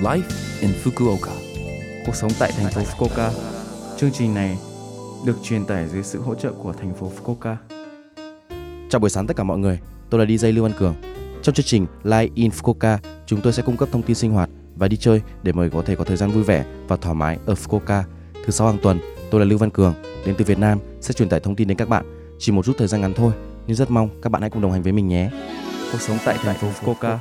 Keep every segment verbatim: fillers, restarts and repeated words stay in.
Life in Fukuoka. Cuộc sống tại thành phố Fukuoka. Chương trình này được truyền tải dưới sự hỗ trợ của thành phố Fukuoka. Chào buổi sáng tất cả mọi người, tôi là đi jay Lưu Văn Cường. Trong chương trình Life in Fukuoka, chúng tôi sẽ cung cấp thông tin sinh hoạt và đi chơi để mọi người có thể có thời gian vui vẻ và thoải mái ở Fukuoka. Thứ sáu hàng tuần, tôi là Lưu Văn Cường, đến từ Việt Nam, sẽ truyền tải thông tin đến các bạn. Chỉ một chút thời gian ngắn thôi, nhưng rất mong các bạn hãy cùng đồng hành với mình nhé. Cuộc sống tại thành phố Fukuoka.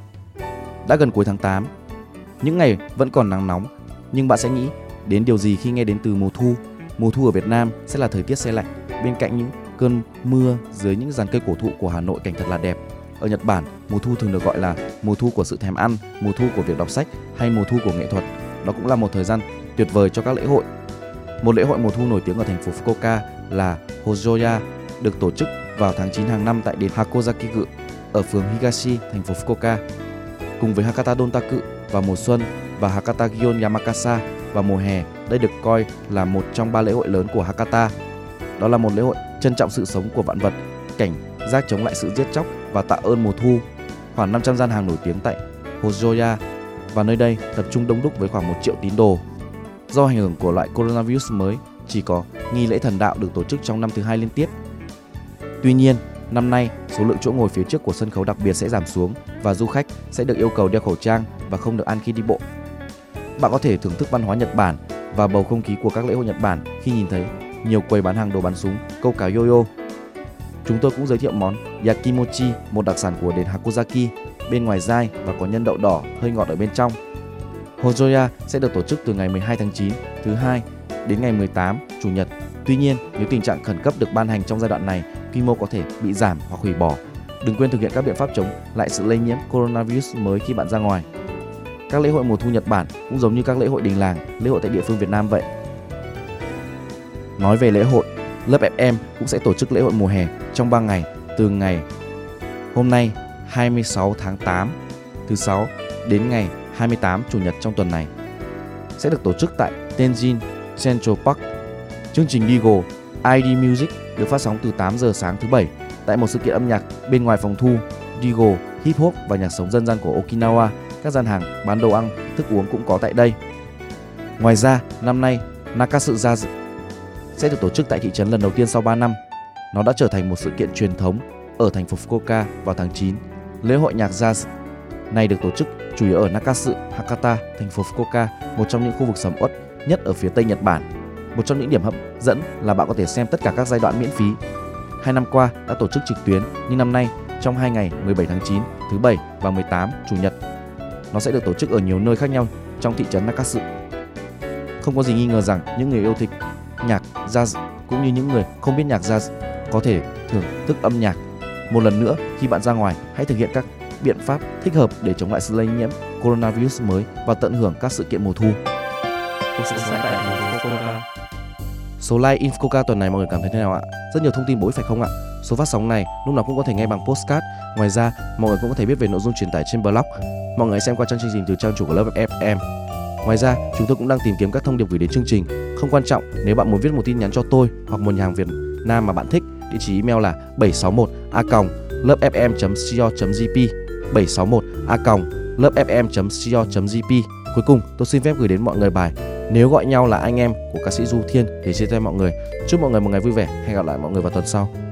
Đã gần cuối tháng tám, những ngày vẫn còn nắng nóng, nhưng bạn sẽ nghĩ đến điều gì khi nghe đến từ mùa thu? Mùa thu ở Việt Nam sẽ là thời tiết se lạnh, bên cạnh những cơn mưa dưới những giàn cây cổ thụ của Hà Nội, cảnh thật là đẹp. Ở Nhật Bản, mùa thu thường được gọi là mùa thu của sự thèm ăn, mùa thu của việc đọc sách hay mùa thu của nghệ thuật. Đó cũng là một thời gian tuyệt vời cho các lễ hội. Một lễ hội mùa thu nổi tiếng ở thành phố Fukuoka là Hojoya, được tổ chức vào tháng chín hàng năm tại đền Hakozaki-gu ở phường Higashi, thành phố Fukuoka. Cùng với Hakata Dontaku vào mùa xuân và Hakata Gion Yamakasa vào mùa hè, đây được coi là một trong ba lễ hội lớn của Hakata. Đó là một lễ hội trân trọng sự sống của vạn vật, cảnh giác chống lại sự giết chóc và tạ ơn mùa thu. Khoảng năm trăm gian hàng nổi tiếng tại Hojoya, và nơi đây tập trung đông đúc với khoảng một triệu tín đồ. Do ảnh hưởng của loại coronavirus mới, chỉ có nghi lễ thần đạo được tổ chức trong năm thứ hai liên tiếp. Tuy nhiên, năm nay số lượng chỗ ngồi phía trước của sân khấu đặc biệt sẽ giảm xuống và du khách sẽ được yêu cầu đeo khẩu trang và không được ăn khi đi bộ. Bạn có thể thưởng thức văn hóa Nhật Bản và bầu không khí của các lễ hội Nhật Bản khi nhìn thấy nhiều quầy bán hàng đồ bắn súng, câu cá yo-yo. Chúng tôi cũng giới thiệu món Yakimochi, một đặc sản của đền Hakozaki, bên ngoài dai và có nhân đậu đỏ hơi ngọt ở bên trong. Hojoya sẽ được tổ chức từ ngày mười hai tháng chín, thứ hai, đến ngày mười tám, chủ nhật. Tuy nhiên, nếu tình trạng khẩn cấp được ban hành trong giai đoạn này, quy mô có thể bị giảm hoặc hủy bỏ. Đừng quên thực hiện các biện pháp chống lại sự lây nhiễm coronavirus mới khi bạn ra ngoài. Các lễ hội mùa thu Nhật Bản cũng giống như các lễ hội đình làng, lễ hội tại địa phương Việt Nam vậy. Nói về lễ hội, lớp ép em cũng sẽ tổ chức lễ hội mùa hè trong ba ngày, từ ngày hôm nay hai mươi sáu tháng tám, thứ sáu, đến ngày hai mươi tám, chủ nhật trong tuần này. Sẽ được tổ chức tại Tenjin Central Park. Chương trình Digo i đê Music được phát sóng từ tám giờ sáng thứ bảy tại một sự kiện âm nhạc bên ngoài phòng thu. Digo, hip hop và nhạc sống dân gian của Okinawa. Các gian hàng bán đồ ăn, thức uống cũng có tại đây. Ngoài ra, năm nay Nakatsu Jazz sẽ được tổ chức tại thị trấn lần đầu tiên sau ba năm. Nó đã trở thành một sự kiện truyền thống ở thành phố Fukuoka vào tháng chín. Lễ hội nhạc jazz này được tổ chức chủ yếu ở Nakatsu, Hakata, thành phố Fukuoka, một trong những khu vực sầm uất nhất ở phía tây Nhật Bản. Một trong những điểm hấp dẫn là bạn có thể xem tất cả các giai đoạn miễn phí. Hai năm qua đã tổ chức trực tuyến, nhưng năm nay trong hai ngày mười bảy tháng chín, thứ bảy và mười tám, chủ nhật, nó sẽ được tổ chức ở nhiều nơi khác nhau trong thị trấn Nakatsu. Không có gì nghi ngờ rằng những người yêu thích nhạc jazz cũng như những người không biết nhạc jazz có thể thưởng thức âm nhạc. Một lần nữa, khi bạn ra ngoài, hãy thực hiện các biện pháp thích hợp để chống lại sự lây nhiễm coronavirus mới và tận hưởng các sự kiện mùa thu. Số like in Fukuoka tuần này mọi người cảm thấy thế nào ạ? Rất nhiều thông tin bổ ích phải không ạ? Số phát sóng này lúc nào cũng có thể nghe bằng podcast. Ngoài ra, mọi người cũng có thể biết về nội dung truyền tải trên blog. Mọi người hãy xem qua trang chương trình từ trang chủ của lớp ép em. Ngoài ra, chúng tôi cũng đang tìm kiếm các thông điệp gửi đến chương trình. Không quan trọng, nếu bạn muốn viết một tin nhắn cho tôi hoặc một nhà hàng Việt Nam mà bạn thích, địa chỉ email là bảy sáu một a còng lớp ép em chấm co chấm jp, bảy sáu một a còng lớp ép em chấm co chấm jp. Cuối cùng, tôi xin phép gửi đến mọi người bài Nếu Gọi Nhau Là Anh Em của ca sĩ Du Thiên để chia tay mọi người. Chúc mọi người một ngày vui vẻ. Hẹn gặp lại mọi người vào tuần sau.